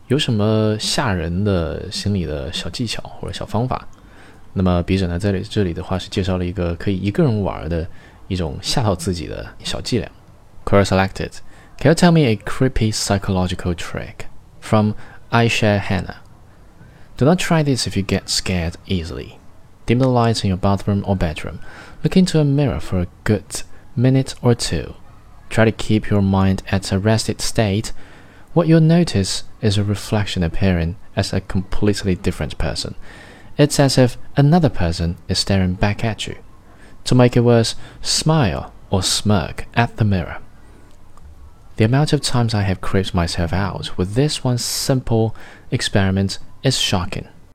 有什么吓人的心理的小技巧或者小方法？那么笔者呢，在这里的话是介绍了一个可以一个人玩的一种吓到自己的小伎俩。Query selected. Can you tell me a creepy psychological trick? From Aisha Hannah. Do not try this if you get scared easily. Dim the lights in your bathroom or bedroom. Look into a mirror for a good minute or two. Try to keep your mind at a rested state. What you'll notice is a reflection appearing as a completely different person. It's as if another person is staring back at you. To make it worse, smile or smirk at the mirror. The amount of times I have creeped myself out with this one simple experiment is shocking.